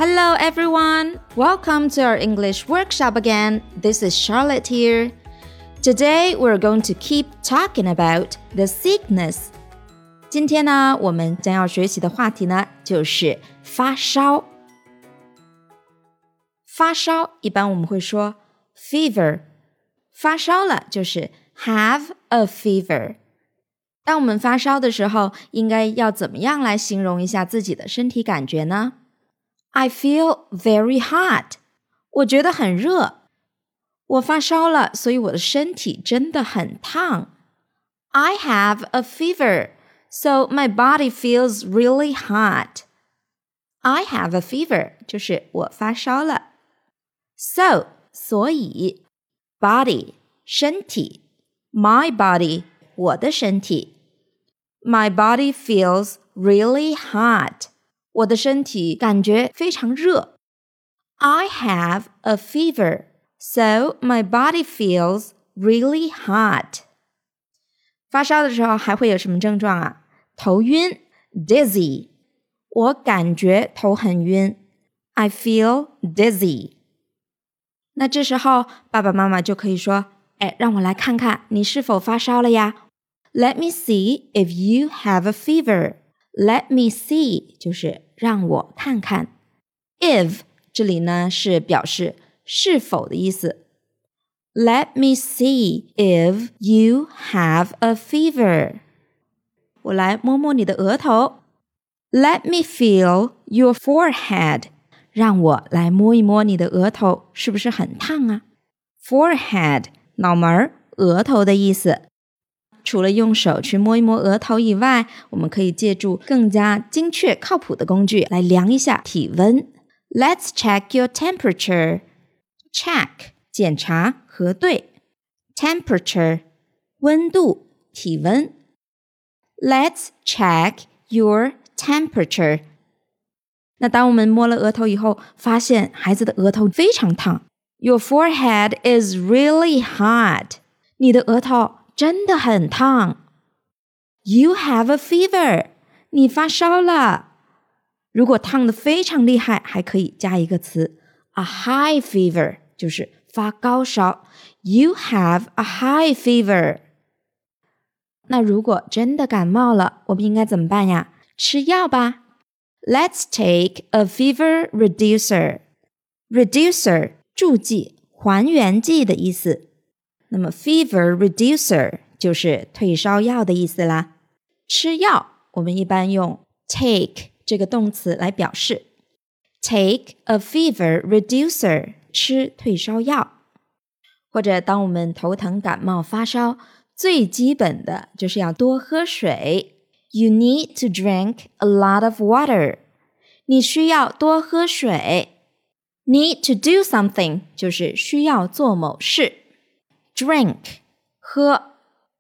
Hello everyone! Welcome to our English workshop again. This is Charlotte here. Today we're going to keep talking about the sickness. 今天呢，我们将要学习的话题呢，就是发烧。发烧一般我们会说 fever， 发烧了就是 have a fever。当我们发烧的时候，应该要怎么样来形容一下自己的身体感觉呢？ I feel very hot. 我觉得很热。我发烧了，所以我的身体真的很烫。I have a fever, so my body feels really hot. I have a fever 就是我发烧了。So 所以 body 身体 my body 我的身体。My body feels really hot. 我的身体感觉非常热。I have a fever, so my body feels really hot. 发烧的时候还会有什么症状啊？头晕 dizzy. 我感觉头很晕 I feel dizzy. 那这时候爸爸妈妈就可以说，让我来看看你是否发烧了呀。Let me see if you have a fever. Let me see 就是让我看看。If 这里呢是表示是否的意思。Let me see if you have a fever. 我来摸摸你的额头。Let me feel your forehead. 让我来摸一摸你的额头，是不是很烫啊？ Forehead 脑门额头的意思。除了用手去摸一摸额头以外，我们可以借助更加精确靠谱的工具来量一下体温。Let's check your temperature. Check 检查核对 Temperature 温度体温。Let's check your temperature. 那当我们摸了额头以后，发现孩子的额头非常烫。Your forehead is really hot. 你的额头真的很烫。You have a fever. 你发烧了。如果烫得非常厉害，还可以加一个词 a high fever, 就是发高烧。You have a high fever. 那如果真的感冒了，我们应该怎么办呀？吃药吧。Let's take a fever reducer. Reducer 助剂还原剂的意思。那么 fever reducer 就是退烧药的意思啦。吃药我们一般用 take 这个动词来表示。Take a fever reducer 吃退烧药。或者当我们头疼感冒发烧，最基本的就是要多喝水。You need to drink a lot of water. 你需要多喝水。Need to do something 就是需要做某事。Drink 喝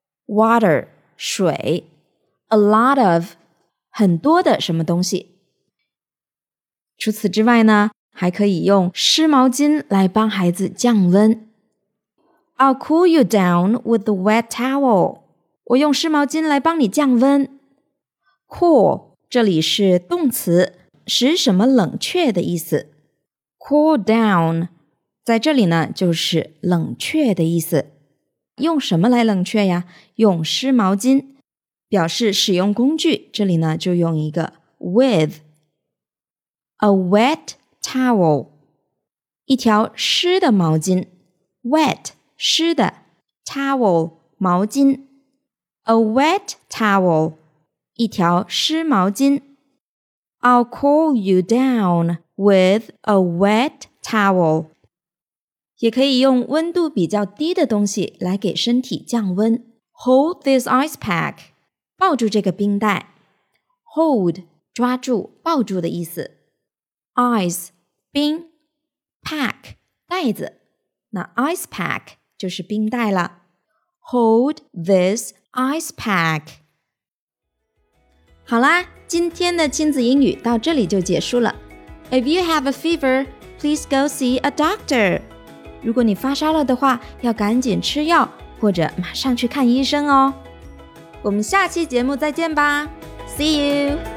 Water 水 A lot of 很多的什么东西。除此之外呢，还可以用湿毛巾来帮孩子降温。I'll cool you down with the wet towel. 我用湿毛巾来帮你降温。Cool 这里是动词，使什么冷却的意思。Cool down 在这里呢就是冷却的意思。用什么来冷却呀？用湿毛巾。表示使用工具，这里呢就用一个 with。 A wet towel 一条湿的毛巾。 Wet 湿的 Towel 毛巾。 A wet towel 一条湿毛巾。 I'll cool you down with a wet towel. 也可以用温度比较低的东西来给身体降温。 Hold this ice pack. 抱住这个冰袋。 Hold 抓住抱住的意思。 Ice 冰。 Pack 袋子。那 ice pack 就是冰袋了。 Hold this ice pack. 好啦，今天的亲子英语到这里就结束了。 If you have a fever, please go see a doctor. 如果你发烧了的话，要赶紧吃药，或者马上去看医生哦。我们下期节目再见吧。See you!